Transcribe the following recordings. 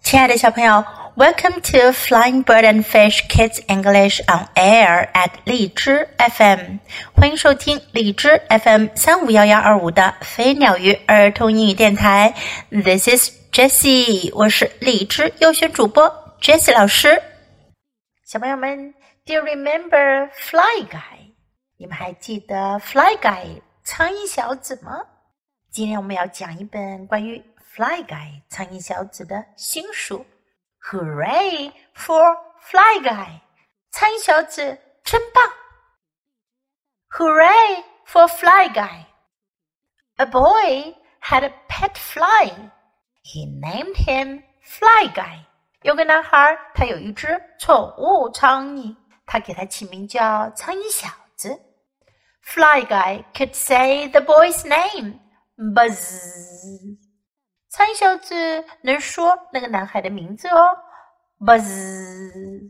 亲爱的小朋友 Welcome to Flying Bird and Fish Kids English on Air at 荔枝 FM 欢迎收听荔枝 FM 35112的飞鸟鱼儿童英语电台 This is Jessie 我是荔枝优选主播 Jessie 老师小朋友们 Do you remember Fly Guy? 你们还记得 Fly Guy 苍蝇小子吗？今天我们要讲一本关于Fly Guy 苍蝇小子的新书 Hooray for Fly Guy 苍蝇小子真棒 Hooray for Fly Guy A boy had a pet fly He named him Fly Guy 有个男孩他有一只宠物苍蝇他给他起名叫苍蝇小子 Fly Guy could say the boy's name Buzz苍蝇小子能说那个男孩的名字哦 Buzz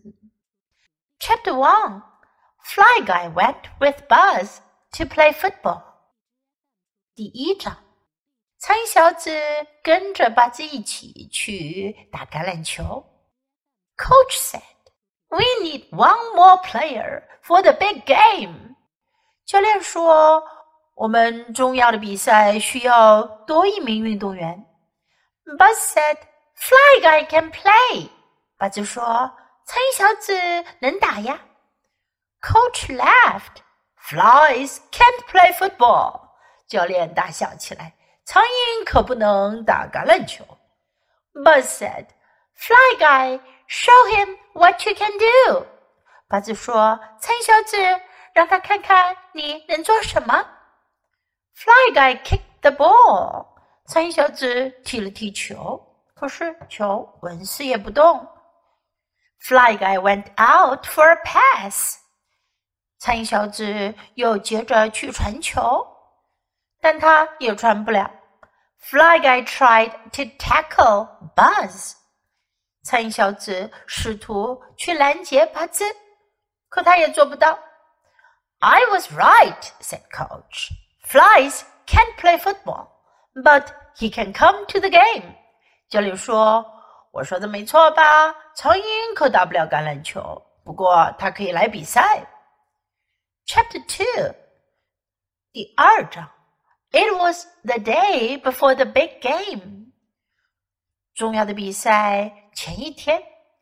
Chapter 1 Fly Guy went with Buzz to play football 第一章苍蝇小子跟着巴兹一起去打橄榄球 Coach said We need one more player for the big game 教练说我们重要的比赛需要多一名运动员Buzz said, Fly Guy can play. 巴兹说，苍蝇小子能打呀。Coach laughed. Flies can't play football. 教练大笑起来，苍蝇可不能打橄榄球。Buzz said, Fly Guy, show him what you can do. 巴兹说，苍蝇小子，让他看看你能做什么。Fly Guy kicked the ball.苍蝇小子踢了踢球，可是球纹丝也不动。Fly Guy went out for a pass. 苍蝇小子又接着去传球，但他也传不了。Fly Guy tried to tackle Buzz. 苍蝇小子试图去拦截巴兹，可他也做不到。I was right, said Coach. Flies can't play football.But he can come to the game. 教练说，我说的没错吧？苍蝇可打不了橄榄球，不过他可以来比赛。Chapter 2 第二章 It was the day before the big game. 重要的比赛前一天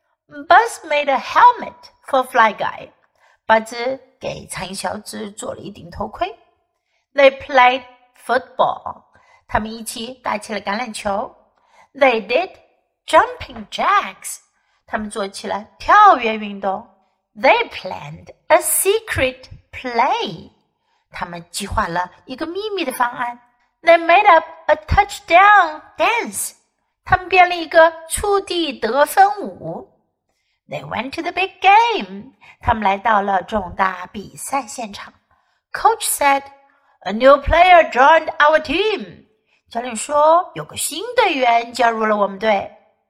Buzz made a helmet for Fly Guy. 巴兹给苍蝇小子做了一顶头盔。They played football.他们一起打起了橄榄球 They did jumping jacks 他们做起了跳跃运动 They planned a secret play 他们计划了一个秘密的方案 They made up a touchdown dance 他们编了一个触地得分舞 They went to the big game 他们来到了重大比赛现场 Coach said A new player joined our team教练说有个新队员加入了我们队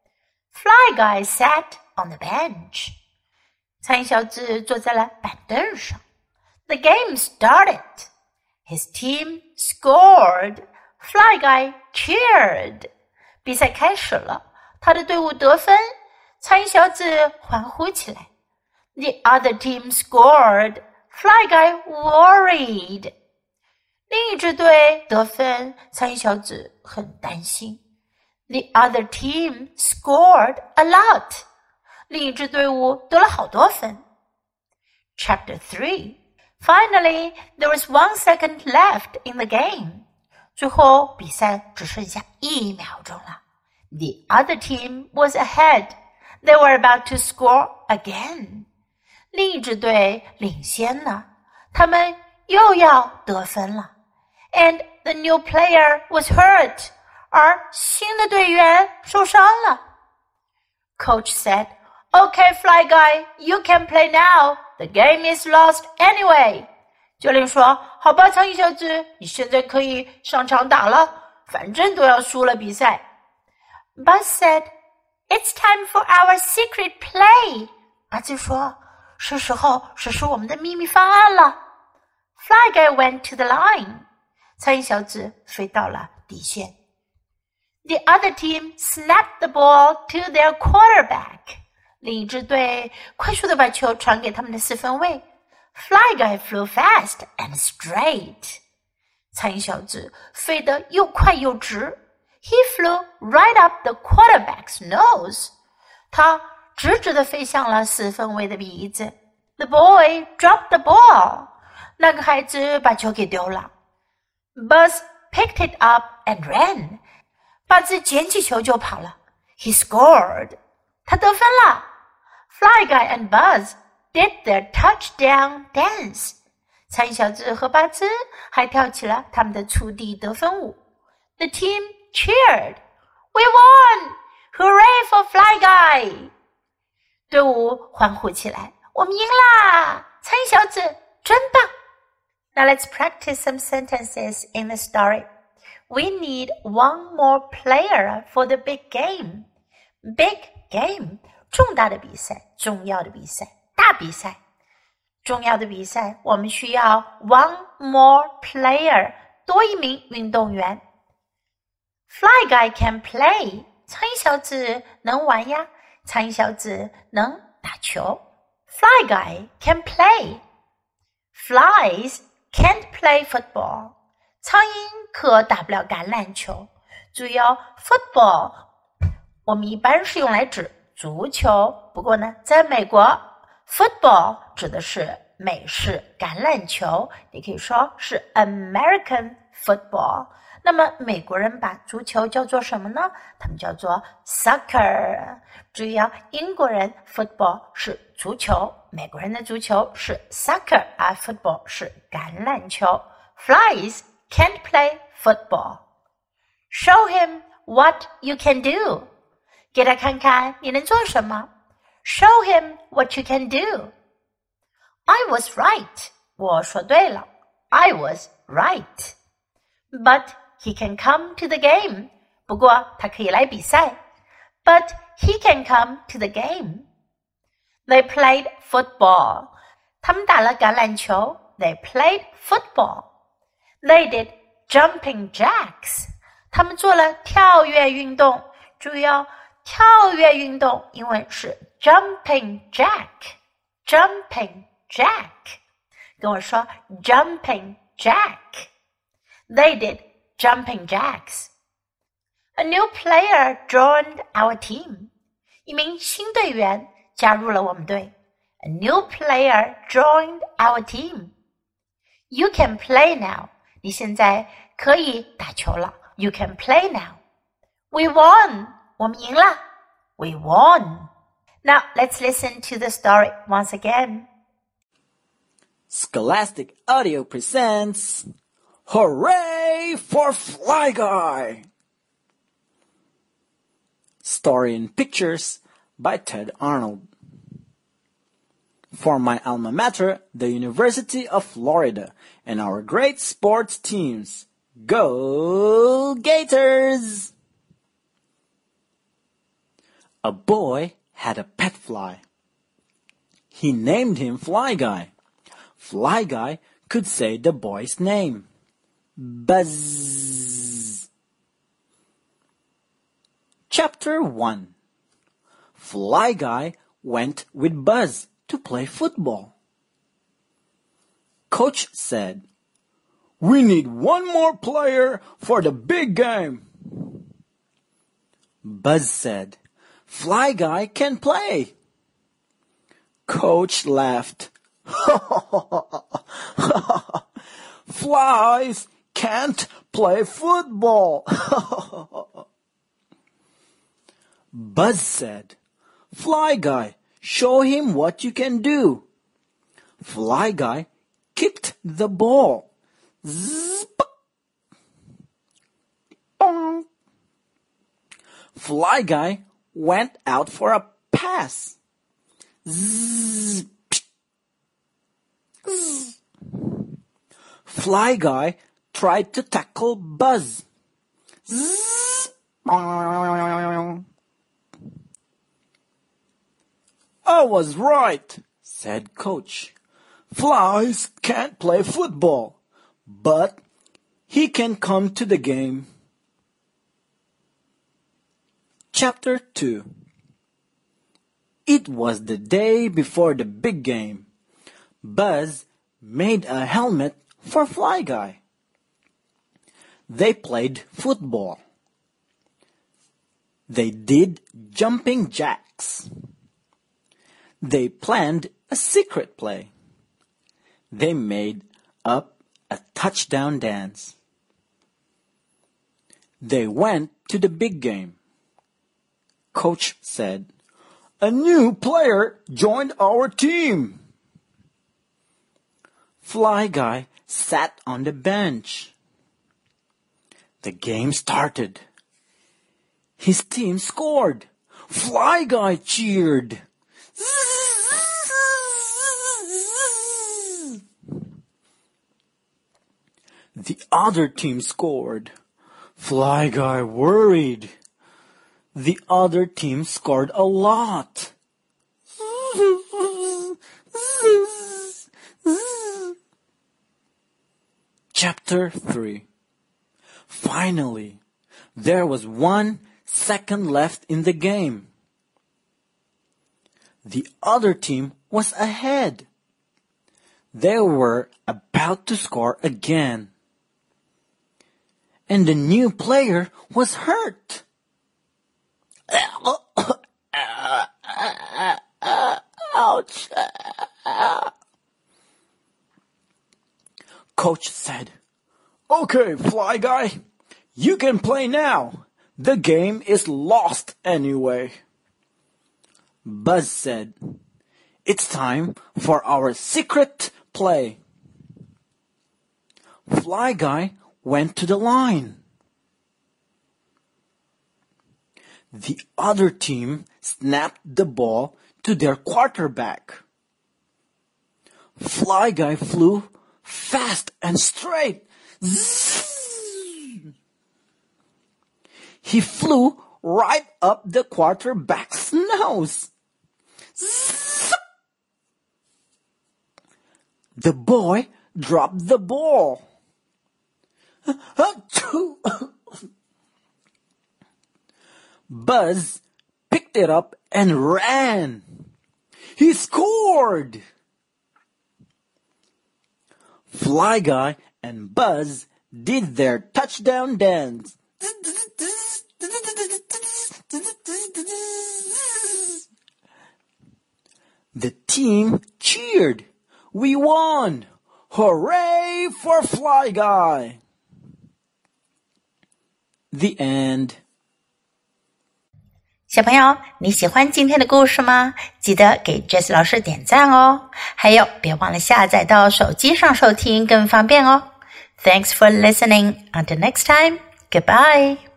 Fly Guy sat on the bench 苍蝇小子坐在了板凳上 The game started His team scored Fly Guy cheered 比赛开始了他的队伍得分苍蝇小子欢呼起来 The other team scored Fly Guy worried另一支队得分，苍蝇小子很担心。The other team scored a lot. 另一支队伍得了好多分。Chapter 3 Finally, there was 1 second left in the game. 最后比赛只剩下1秒钟了。The other team was ahead. They were about to score again. 另一支队领先了，他们又要得分了。And the new player was hurt. 而新的队员受伤了。Coach said, Okay, Fly Guy, you can play now. The game is lost anyway. 教练说，好吧，苍蝇小子，你现在可以上场打了，反正都要输了比赛。Buzz said, It's time for our secret play. 巴兹说，是时候实施我们的秘密方案了。Fly Guy went to the line. 苍蝇小子飞到了底线。 The other team snapped the ball to their quarterback. 另一支队快速地把球传给他们的四分卫。Fly Guy flew fast and straight. 苍蝇小子飞得又快又直。He flew right up the quarterback's nose. 他直直地飞向了四分卫的鼻子。The boy dropped the ball. 那个孩子把球给丢了。Buzz picked it up and ran. 巴兹捡起球就跑了。He scored. 他得分了。Fly Guy and Buzz did their touchdown dance. 苍蝇小子和巴兹还跳起了他们的触地得分舞。The team cheered. We won! Hooray for Fly Guy! 队伍欢呼起来。我们赢啦！苍蝇小子真棒。Now let's practice some sentences in the story. We need one more player for the big game. Big game, 重大的比赛，重要的比赛，大比赛。重要的比赛，我们需要 one more player, 多一名运动员。Fly Guy can play. 苍蝇小子能玩呀，苍蝇小子能打球。Fly Guy can play. Flies can't play football. 苍蝇可打不了橄榄球。注意哦 ，football 我们一般是用来指足球，不过呢，在美国 football 指的是美式橄榄球，也可以说是 American football。那么美国人把足球叫做什么呢？他们叫做 soccer。注意哦，英国人 football 是足球，美国人的足球是 soccer， 而 football 是橄榄球。Flies can't play football. Show him what you can do. 给他看看你能做什么。Show him what you can do. I was right. 我说对了。I was right. But he can come to the game. 不过他可以来比赛。But he can come to the game. They played football. 他们打了橄榄球。They played football.They did jumping jacks. 他们做了跳跃运动。注意哦，跳跃运动英文是 jumping jack. Jumping jack. 跟我说 jumping jack. They did jumping jacks. A new player joined our team. 一名新队员加入了我们队。A new player joined our team. You can play now.你现在可以打球了。You can play now. We won. 我们赢了。We won. Now let's listen to the story once again. Scholastic Audio presents Hooray for Fly Guy! Story and pictures by Ted Arnold. For my alma mater, the University of Florida, and our great sports teams. Go Gators! A boy had a pet fly. He named him Fly Guy. Fly Guy could say the boy's name. Buzz. Chapter 1. Fly Guy went with Buzz to play football. Coach said, "We need one more player for the big game." Buzz said, "Fly Guy can play." Coach laughed. "Flies can't play football." Buzz said, "Fly Guy, show him what you can do." Fly Guy kicked the ball. Zip. Bong. Fly Guy went out for a pass. Zip. Zzz. Fly Guy tried to tackle Buzz. Zzz. "I was right," said Coach. "Flies can't play football, but he can come to the game." Chapter 2. It was the day before the big game. Buzz made a helmet for Fly Guy. They played football. They did jumping jacks. They planned a secret play. They made up a touchdown dance. They went to the big game. Coach said, "A new player joined our team." Fly Guy sat on the bench. The game started. His team scored. Fly Guy cheered. The other team scored. Fly Guy worried. The other team scored a lot. Chapter 3. Finally, there was 1 second left in the game. The other team was ahead. They were about to score again. And the new player was hurt. Ouch. Coach said, "Okay, Fly Guy, you can play now. The game is lost anyway." Buzz said, "It's time for our secret play." Fly Guy went to the line. The other team snapped the ball to their quarterback. Fly Guy flew fast and straight. He flew right up the quarterback's nose. The boy dropped the ball. Buzz picked it up and ran. He scored! Fly Guy and Buzz did their touchdown dance. The team cheered. We won! Hooray for Fly Guy! The end. 小朋友，你喜欢今天的故事吗？记得给 Jessie 老师点赞哦。还有，别忘了下载到手机上收听，更方便哦。Thanks for listening. Until next time. Goodbye.